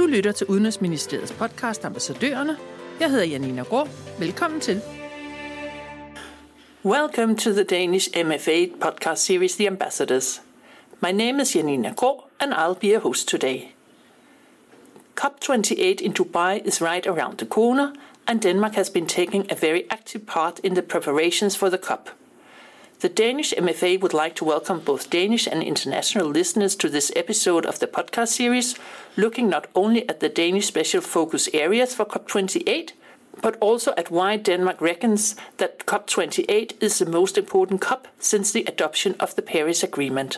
Du lytter til Udenrigsministeriets podcast Ambassadørerne. Jeg hedder Janina Grå. Velkommen til. Welcome to the Danish MFA podcast series, The Ambassadors. My name is Janina Grå, and I'll be a host today. COP28 in Dubai is right around the corner, and Denmark has been taking a very active part in the preparations for the COP. The Danish MFA would like to welcome both Danish and international listeners to this episode of the podcast series, looking not only at the Danish special focus areas for COP28, but also at why Denmark reckons that COP28 is the most important COP since the adoption of the Paris Agreement.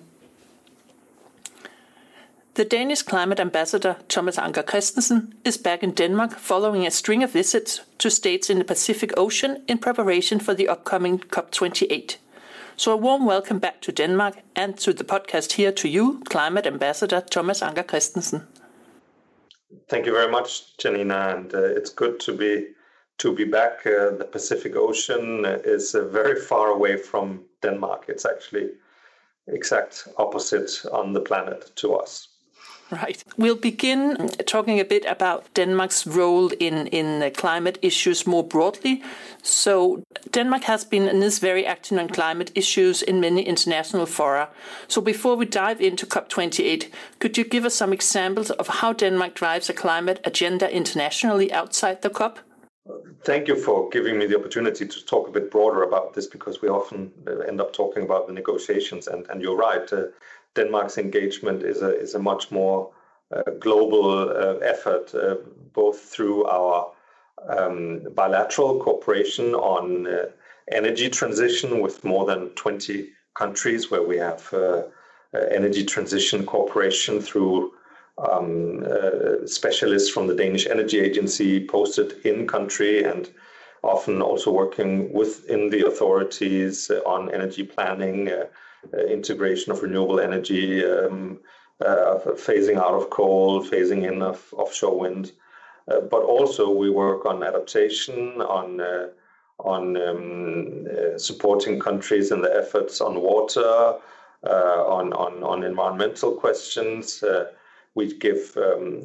The Danish climate ambassador Thomas Anker Christensen is back in Denmark following a string of visits to states in the Pacific Ocean in preparation for the upcoming COP28. So a warm welcome back to Denmark and to the podcast here to you, Climate Ambassador Thomas Anker Christensen. Thank you very much, Janina, and it's good to be back. The Pacific Ocean is very far away from Denmark. It's actually exact opposite on the planet to us. Right. We'll begin talking a bit about Denmark's role in climate issues more broadly. So Denmark has been and is very active on climate issues in many international fora. So before we dive into COP28, could you give us some examples of how Denmark drives a climate agenda internationally outside the COP? Thank you for giving me the opportunity to talk a bit broader about this, because we often end up talking about the negotiations. And you're right. Denmark's engagement is a much more global effort, both through our bilateral cooperation on energy transition with more than 20 countries, where we have energy transition cooperation through specialists from the Danish Energy Agency posted in country, and often also working within the authorities on energy planning, integration of renewable energy, phasing out of coal, phasing in of offshore wind. But also we work on adaptation, on supporting countries in the efforts on water, on environmental questions. We give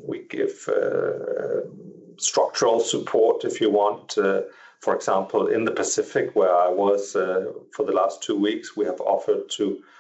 structural support, if you want. For example, in the Pacific, where I was for the last 2 weeks, we have offered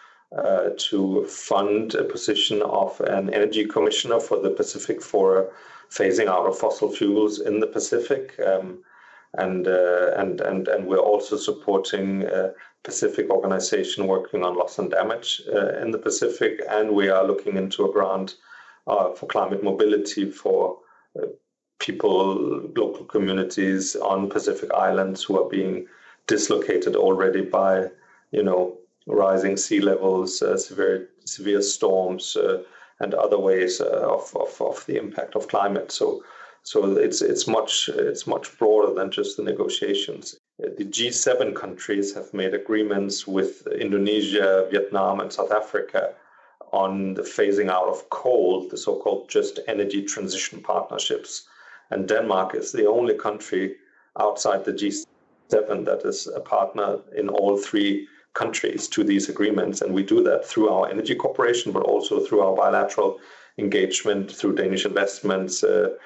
to fund a position of an energy commissioner for the Pacific for phasing out of fossil fuels in the Pacific, and we're also supporting a Pacific organization working on loss and damage in the Pacific, and we are looking into a grant for climate mobility for people, local communities on Pacific Islands who are being dislocated already by, rising sea levels, severe storms, and other ways of the impact of climate. So it's much broader than just the negotiations. The G7 countries have made agreements with Indonesia, Vietnam, and South Africa on the phasing out of coal, the so-called just energy transition partnerships. And Denmark is the only country outside the G7 that is a partner in all 3 countries to these agreements. And we do that through our energy cooperation, but also through our bilateral engagement through Danish investments.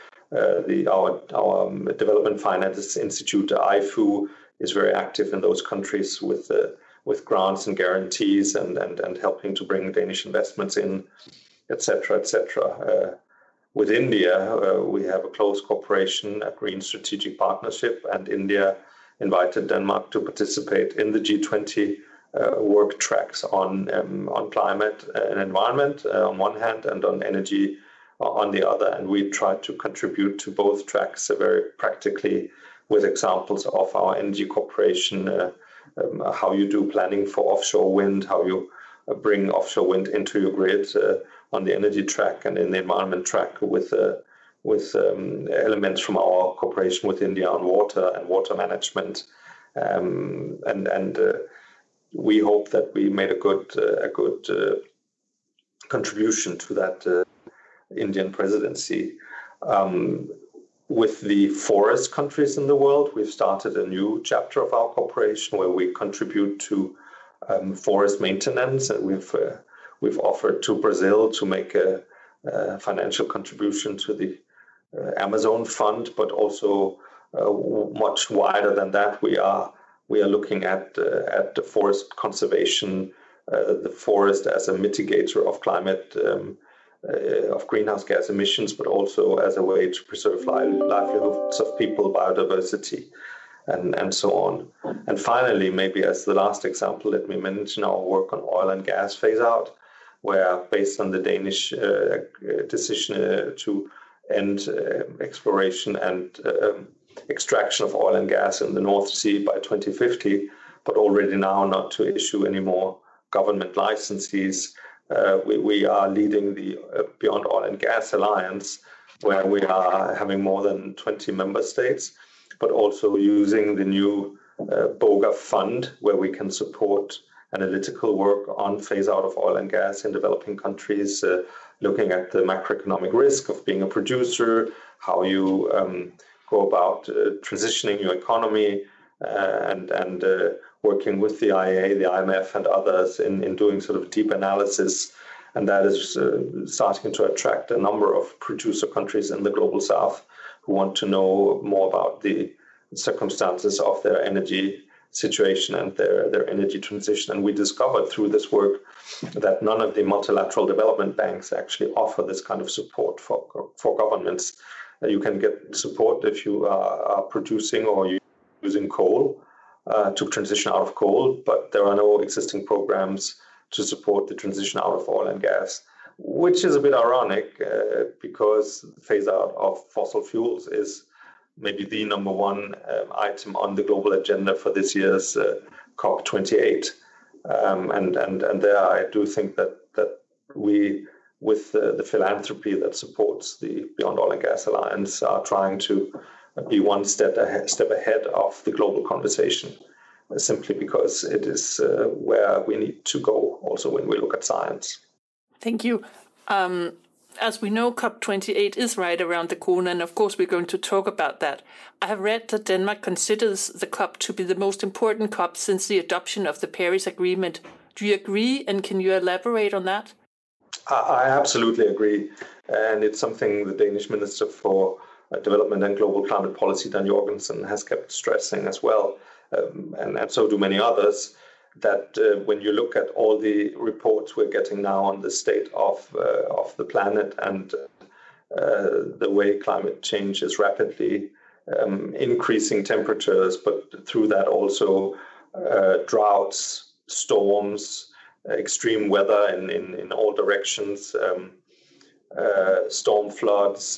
Our Development Finance Institute, IFU, is very active in those countries with grants and guarantees and helping to bring Danish investments in, etc., etc. With India, we have a close cooperation, a green strategic partnership, and India invited Denmark to participate in the G20 work tracks on climate and environment on one hand, and on energy on the other. And we try to contribute to both tracks very practically with examples of our energy cooperation, how you do planning for offshore wind, how you bring offshore wind into your grid on the energy track, and in the environment track with elements from our cooperation with India on water and water management. We hope that we made a good contribution to that Indian presidency. With the forest countries in the world, we've started a new chapter of our cooperation where we contribute to forest maintenance, and we've offered to Brazil to make a financial contribution to the Amazon Fund, but also much wider than that. We are looking at the forest conservation, the forest as a mitigator of climate, of greenhouse gas emissions, but also as a way to preserve livelihoods of people, biodiversity, and so on. And finally, maybe as the last example, let me mention our work on oil and gas phase out, where based on the Danish decision to end exploration and extraction of oil and gas in the North Sea by 2050, but already now not to issue any more government licenses. We are leading the Beyond Oil and Gas Alliance, where we are having more than 20 member states, but also using the new BOGA fund, where we can support analytical work on phase out of oil and gas in developing countries, looking at the macroeconomic risk of being a producer, how you go about transitioning your economy, and working with the IEA, the IMF, and others in doing sort of deep analysis. And that is starting to attract a number of producer countries in the global south who want to know more about the circumstances of their energy situation and their energy transition. And we discovered through this work that none of the multilateral development banks actually offer this kind of support for governments. You can get support if you are producing or using coal to transition out of coal, but there are no existing programs to support the transition out of oil and gas, which is a bit ironic because phase out of fossil fuels is maybe the number one item on the global agenda for this year's COP28. And there I do think that we, with the philanthropy that supports the Beyond Oil and Gas Alliance, are trying to be one step ahead of the global conversation, simply because it is where we need to go also when we look at science. Thank you. As we know, COP28 is right around the corner, and of course we're going to talk about that. I have read that Denmark considers the COP to be the most important COP since the adoption of the Paris Agreement. Do you agree, and can you elaborate on that? I absolutely agree, and it's something the Danish Minister for Development and Global Climate Policy, Dan Jorgensen, has kept stressing as well, and so do many others, that when you look at all the reports we're getting now on the state of the planet and the way climate change is rapidly increasing temperatures, but through that also droughts, storms, extreme weather in all directions, storm floods,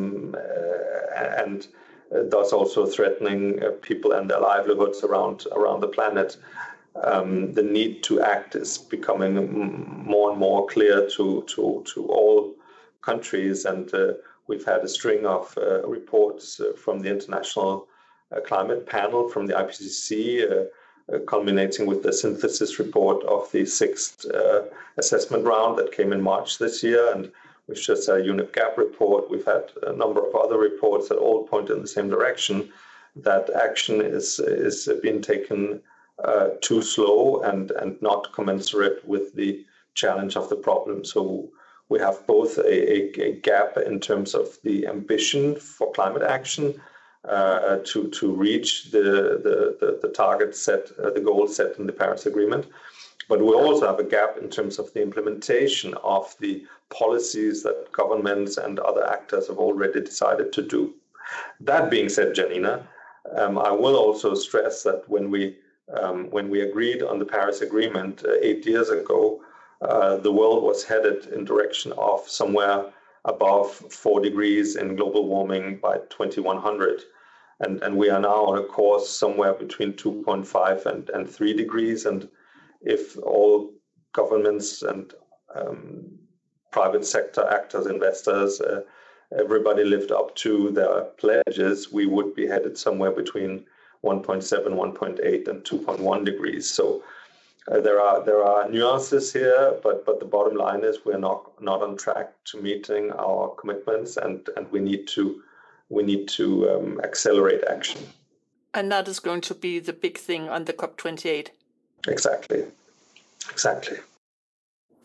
and thus also threatening people and their livelihoods around the planet. The need to act is becoming more and more clear to all countries, and we've had a string of reports from the International Climate Panel, from the IPCC, culminating with the synthesis report of the sixth assessment round that came in March this year, and we've just had a UNEP GAP report. We've had a number of other reports that all point in the same direction, that action is being taken too slow and not commensurate with the challenge of the problem. So we have both a gap in terms of the ambition for climate action to reach the target set, the goal set in the Paris Agreement, but we also have a gap in terms of the implementation of the policies that governments and other actors have already decided to do. That being said, Janina, I will also stress that when we agreed on the Paris Agreement 8 years ago, the world was headed in direction of somewhere above 4 degrees in global warming by 2100. And we are now on a course somewhere between 2.5 and 3 degrees. And if all governments and private sector actors, investors, everybody lived up to their pledges, we would be headed somewhere between 1.7, 1.8, and 2.1 degrees. So there are nuances here, but the bottom line is we're not on track to meeting our commitments, and we need to accelerate action. And that is going to be the big thing on the COP28. Exactly.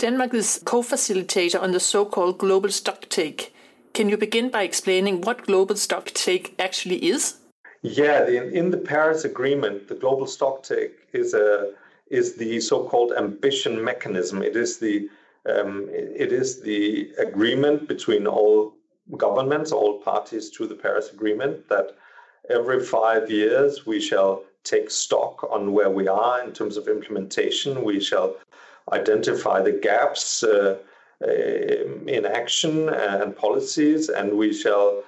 Denmark is co-facilitator on the so-called Global Stocktake. Can you begin by explaining what Global Stocktake actually is? Yeah, in the Paris Agreement, the Global Stocktake is the so-called ambition mechanism. It is the agreement between all governments, all parties to the Paris Agreement, that every 5 years we shall take stock on where we are in terms of implementation. We shall identify the gaps in action and policies, and we shall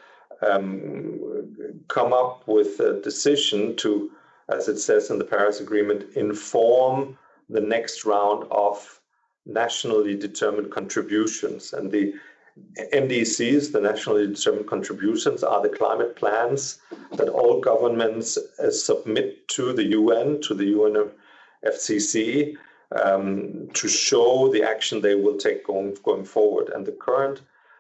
come up with a decision to, as it says in the Paris Agreement, inform the next round of nationally determined contributions. And the NDCs, the nationally determined contributions, are the climate plans that all governments submit to the UN, to the UNFCCC, to show the action they will take going forward. And the current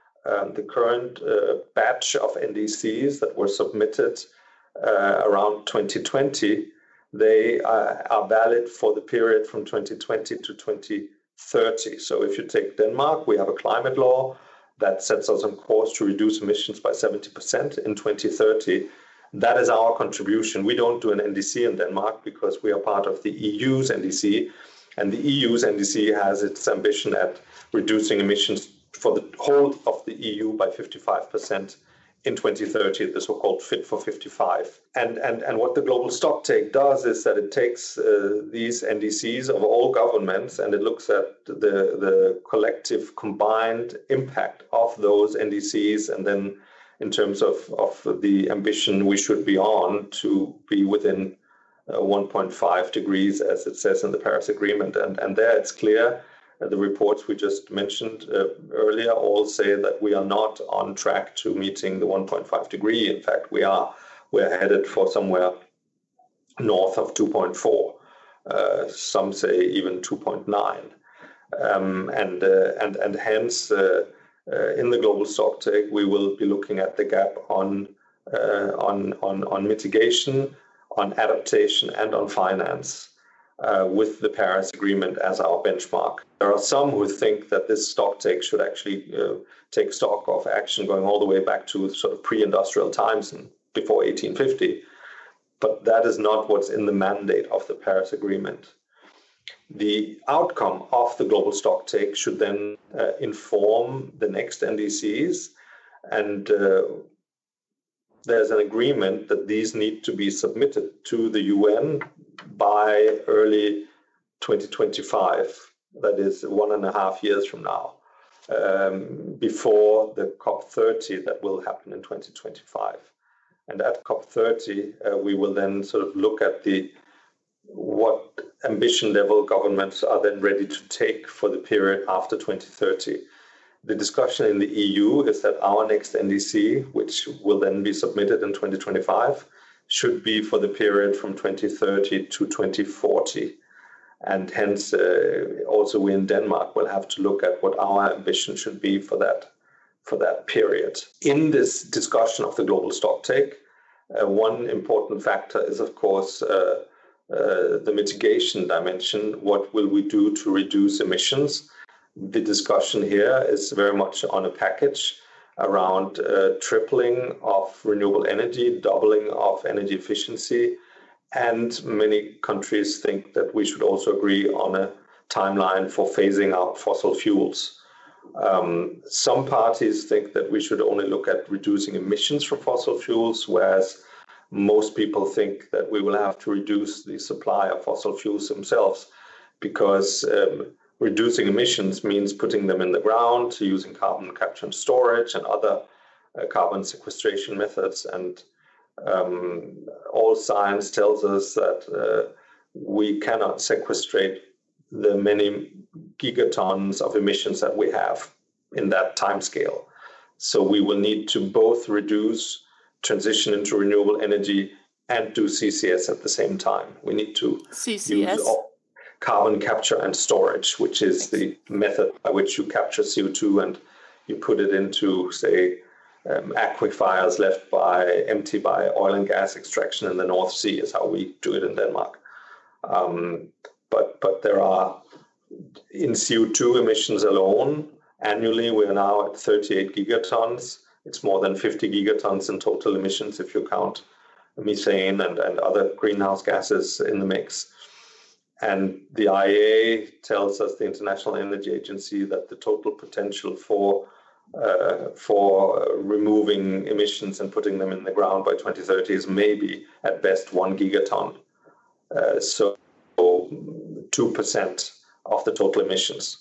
batch of NDCs that were submitted around 2020, they are valid for the period from 2020 to 2030. So if you take Denmark, we have a climate law that sets us on course to reduce emissions by 70% in 2030. That is our contribution. We don't do an NDC in Denmark because we are part of the EU's NDC, and the EU's NDC has its ambition at reducing emissions for the whole of the EU by 55% in 2030, the so-called Fit for 55. And what the Global Stocktake does is that it takes these NDCs of all governments and it looks at the collective combined impact of those NDCs, and then in terms of the ambition we should be on to be within 1.5 degrees, as it says in the Paris Agreement. And there it's clear. The reports we just mentioned earlier all say that we are not on track to meeting the 1.5 degree. In fact, we're headed for somewhere north of 2.4. Some say even 2.9. And hence, in the Global Stocktake, we will be looking at the gap on mitigation, on adaptation, and on finance. With the Paris Agreement as our benchmark. There are some who think that this stocktake should actually take stock of action going all the way back to sort of pre-industrial times and before 1850, but that is not what's in the mandate of the Paris Agreement. The outcome of the Global Stocktake should then inform the next NDCs, and there's an agreement that these need to be submitted to the UN by early 2025, that is 1.5 years from now, before the COP30 that will happen in 2025. And at COP30, we will then sort of look at what ambition level governments are then ready to take for the period after 2030. The discussion in the EU is that our next NDC, which will then be submitted in 2025, should be for the period from 2030 to 2040. And hence, also we in Denmark will have to look at what our ambition should be for that period. In this discussion of the Global Stocktake, one important factor is, of course, the mitigation dimension. What will we do to reduce emissions? The discussion here is very much on a package around tripling of renewable energy, doubling of energy efficiency, and many countries think that we should also agree on a timeline for phasing out fossil fuels. Some parties think that we should only look at reducing emissions from fossil fuels, whereas most people think that we will have to reduce the supply of fossil fuels themselves, because reducing emissions means putting them in the ground, using carbon capture and storage and other carbon sequestration methods. And all science tells us that we cannot sequestrate the many gigatons of emissions that we have in that time scale. So we will need to both reduce, transition into renewable energy, and do CCS at the same time. We need to use carbon capture and storage, which is the method by which you capture CO2 and you put it into, say, aquifers left empty by oil and gas extraction in the North Sea, is how we do it in Denmark. But there are In CO2 emissions alone, annually, we are now at 38 gigatons. It's more than 50 gigatons in total emissions if you count methane and other greenhouse gases in the mix. And the IEA tells us, the International Energy Agency, that the total potential for removing emissions and putting them in the ground by 2030 is maybe at best 1 gigaton. So 2% of the total emissions.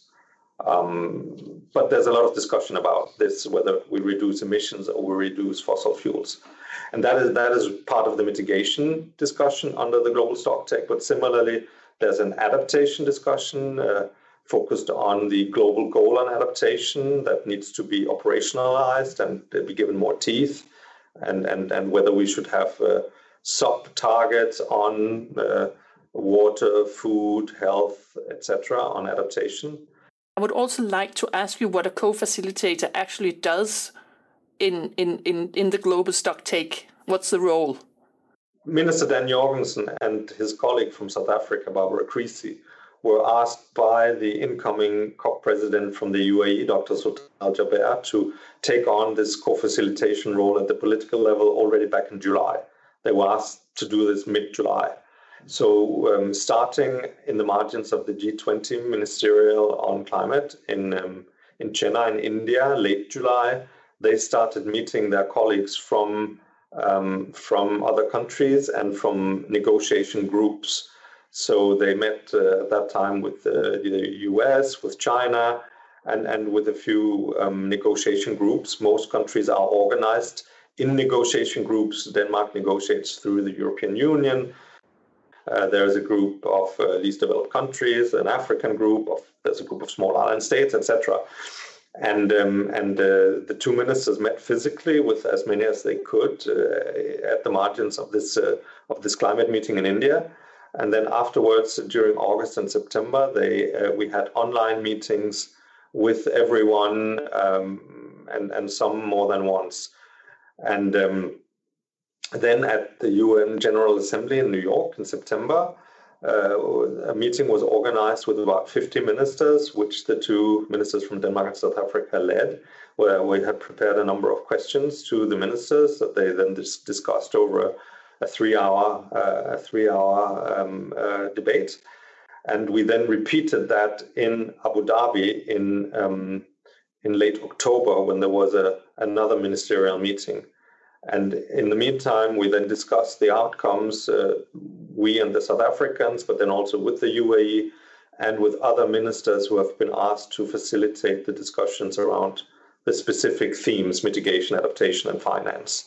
But there's a lot of discussion about this, whether we reduce emissions or we reduce fossil fuels. And that is part of the mitigation discussion under the Global Stocktake. But similarly, there's an adaptation discussion focused on the global goal on adaptation that needs to be operationalized and be given more teeth, and whether we should have sub-targets on water, food, health, etc. on adaptation. I would also like to ask you what a co-facilitator actually does in the Global Stocktake. What's the role? Minister Dan Jorgensen and his colleague from South Africa, Barbara Creecy, were asked by the incoming COP president from the UAE, Dr. Sultan Al Jaber, to take on this co-facilitation role at the political level already back in July. They were asked to do this mid-July. So starting in the margins of the G20 Ministerial on Climate in Chennai in India, late July, they started meeting their colleagues from other countries and from negotiation groups. So they met at that time with the US, with China, and with a few negotiation groups. Most countries are organized in negotiation groups. Denmark negotiates through the European Union. There's a group of least developed countries, an African group, there's a group of small island states, etc. And the two ministers met physically with as many as they could at the margins of this climate meeting in India. And then afterwards, during August and September, we had online meetings with everyone, and some more than once. And then at the UN General Assembly in New York in September, a meeting was organized with about 50 ministers, which the two ministers from Denmark and South Africa led, where we had prepared a number of questions to the ministers that they then discussed over a three-hour debate. And we then repeated that in Abu Dhabi in late October, when there was another ministerial meeting. And in the meantime, we then discussed the outcomes, we and the South Africans, but then also with the UAE and with other ministers who have been asked to facilitate the discussions around the specific themes: mitigation, adaptation, and finance.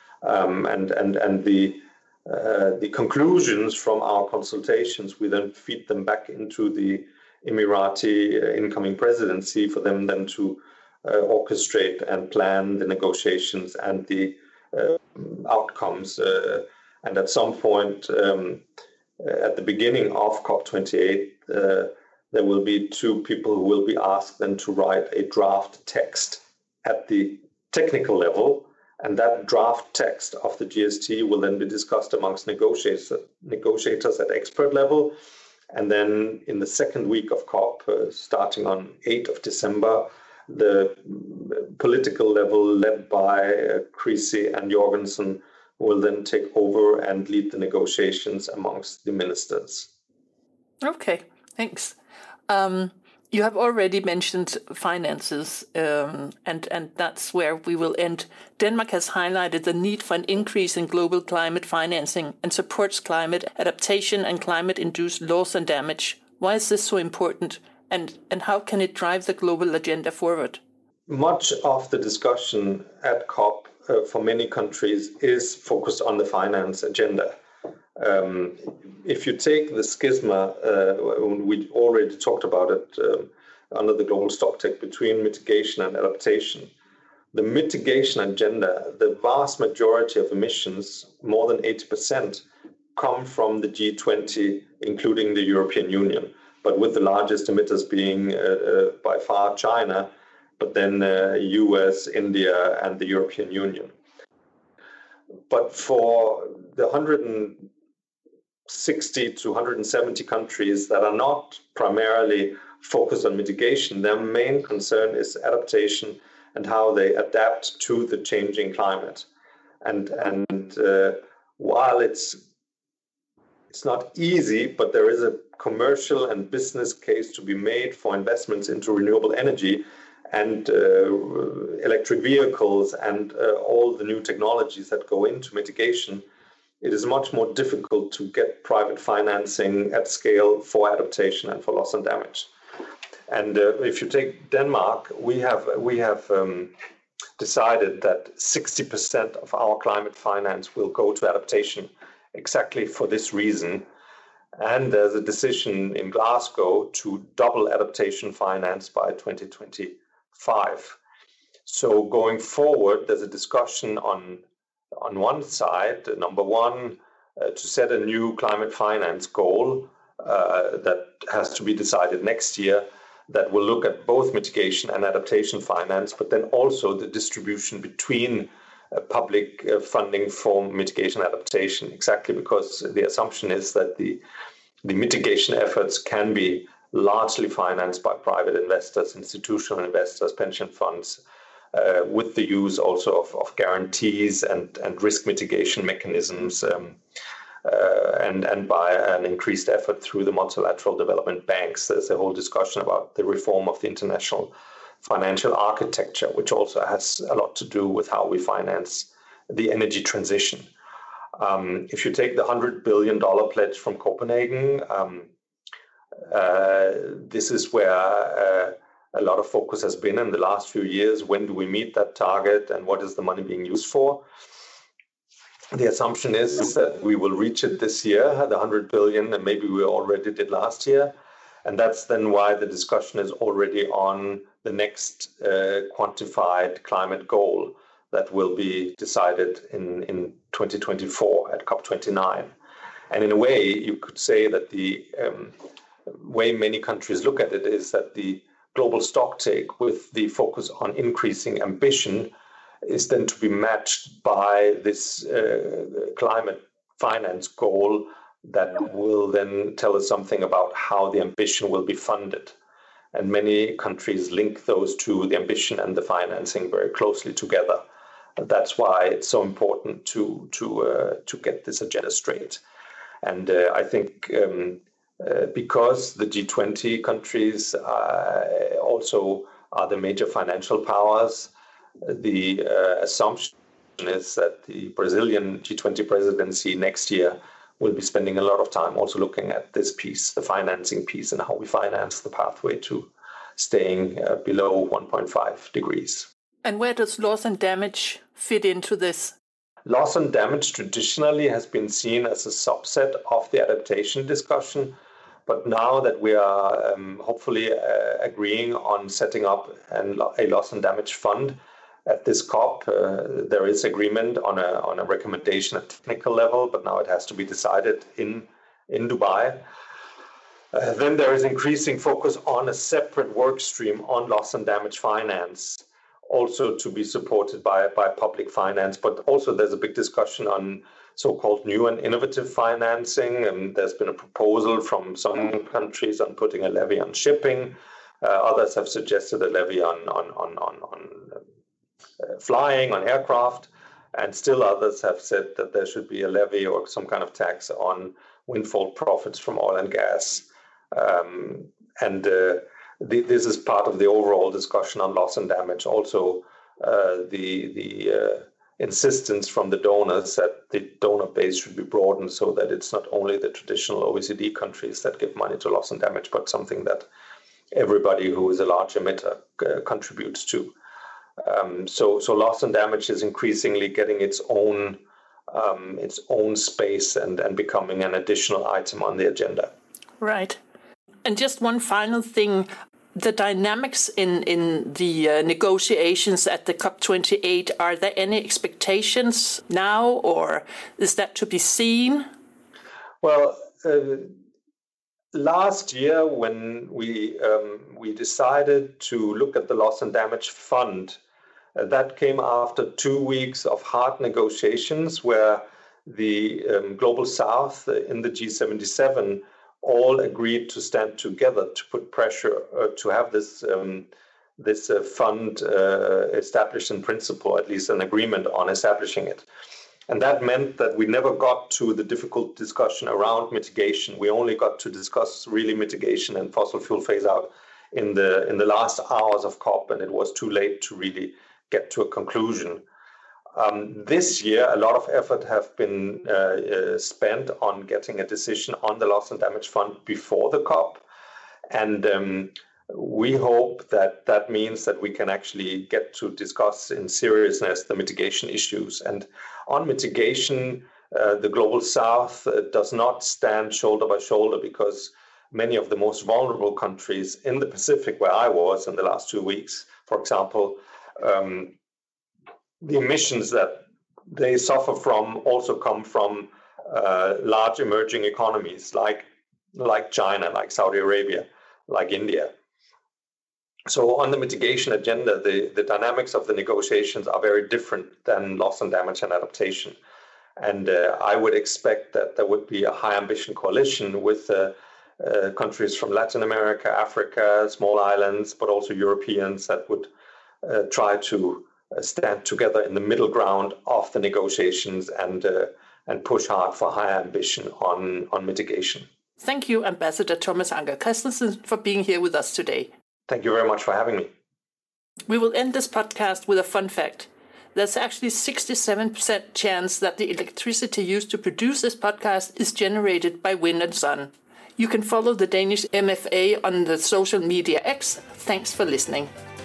And the conclusions from our consultations, we then feed them back into the Emirati incoming presidency for them then to orchestrate and plan the negotiations and the outcomes. And at some point, at the beginning of COP28, there will be two people who will be asked then to write a draft text at the technical level. And that draft text of the GST will then be discussed amongst negotiators at expert level. And then in the second week of COP, starting on 8th of December, the political level led by Creecy and Jorgensen will then take over and lead the negotiations amongst the ministers. Okay, thanks. You have already mentioned finances, and that's where we will end. Denmark has highlighted the need for an increase in global climate financing and supports climate adaptation and climate-induced loss and damage. Why is this so important, and how can it drive the global agenda forward? Much of the discussion at COP for many countries is focused on the finance agenda. If you take the schisma, we already talked about it under the Global Stocktake, between mitigation and adaptation. The mitigation agenda, the vast majority of emissions, more than 80%, come from the G20, including the European Union, but with the largest emitters being by far China, but then US, India, and the European Union. But for the 160 to 170 countries that are not primarily focus on mitigation. Their main concern is adaptation and how they adapt to the changing climate. And while it's not easy, but there is a commercial and business case to be made for investments into renewable energy and electric vehicles and all the new technologies that go into mitigation, it is much more difficult to get private financing at scale for adaptation and for loss and damage. And if you take Denmark, we have decided that 60% of our climate finance will go to adaptation, exactly for this reason. And there's a decision in Glasgow to double adaptation finance by 2025. So going forward, there's a discussion on one side, number one, to set a new climate finance goal that has to be decided next year, that will look at both mitigation and adaptation finance, but then also the distribution between public funding for mitigation adaptation, exactly because the assumption is that the mitigation efforts can be largely financed by private investors, institutional investors, pension funds, with the use also of guarantees and risk mitigation mechanisms, and by an increased effort through the multilateral development banks. There's a whole discussion about the reform of the international financial architecture, which also has a lot to do with how we finance the energy transition. If you take the $100 billion pledge from Copenhagen, this is where a lot of focus has been in the last few years. When do we meet that target and what is the money being used for? The assumption is that we will reach it this year, the 100 billion, and maybe we already did last year. And that's then why the discussion is already on the next quantified climate goal that will be decided in 2024 at COP29. And in a way, you could say that the way many countries look at it is that the global stocktake with the focus on increasing ambition is then to be matched by this climate finance goal that will then tell us something about how the ambition will be funded. And many countries link those two, the ambition and the financing, very closely together. That's why it's so important to get this agenda straight. And I think because the G20 countries also are the major financial powers, the assumption is that the Brazilian G20 presidency next year will be spending a lot of time also looking at this piece, the financing piece, and how we finance the pathway to staying below 1.5 degrees. And where does loss and damage fit into this? Loss and damage traditionally has been seen as a subset of the adaptation discussion. But now that we are hopefully agreeing on setting up a loss and damage fund at this COP, there is agreement on a recommendation at technical level, but now it has to be decided in Dubai. Then there is increasing focus on a separate work stream on loss and damage finance, also to be supported by public finance. But also there's a big discussion on so-called new and innovative financing. And there's been a proposal from some countries on putting a levy on shipping. Others have suggested a levy on flying, on aircraft. And still others have said that there should be a levy or some kind of tax on windfall profits from oil and gas. This is part of the overall discussion on loss and damage. Also, the insistence from the donors that the donor base should be broadened so that it's not only the traditional OECD countries that give money to loss and damage, but something that everybody who is a large emitter contributes to. So loss and damage is increasingly getting its own space and becoming an additional item on the agenda. Right. And just one final thing, the dynamics in the negotiations at the COP28, are there any expectations now, or is that to be seen? Well, last year when we decided to look at the loss and damage fund, that came after 2 weeks of hard negotiations where the Global South in the G77 all agreed to stand together to put pressure to have this fund established in principle, at least an agreement on establishing it. And that meant that we never got to the difficult discussion around mitigation. We only got to discuss really mitigation and fossil fuel phase out in the last hours of COP, and it was too late to really get to a conclusion. This year, a lot of effort have been spent on getting a decision on the loss and damage fund before the COP. And we hope that means that we can actually get to discuss in seriousness the mitigation issues. And on mitigation, the Global South does not stand shoulder by shoulder, because many of the most vulnerable countries in the Pacific, where I was in the last 2 weeks, for example, the emissions that they suffer from also come from large emerging economies like China, like Saudi Arabia, like India. So on the mitigation agenda, the dynamics of the negotiations are very different than loss and damage and adaptation. And I would expect that there would be a high ambition coalition with countries from Latin America, Africa, small islands, but also Europeans that would try to stand together in the middle ground of the negotiations and push hard for high ambition on mitigation. Thank you, Ambassador Thomas Anker Christensen, for being here with us today. Thank you very much for having me. We will end this podcast with a fun fact. There's actually 67% chance that the electricity used to produce this podcast is generated by wind and sun. You can follow the Danish MFA on the social media X. Thanks for listening.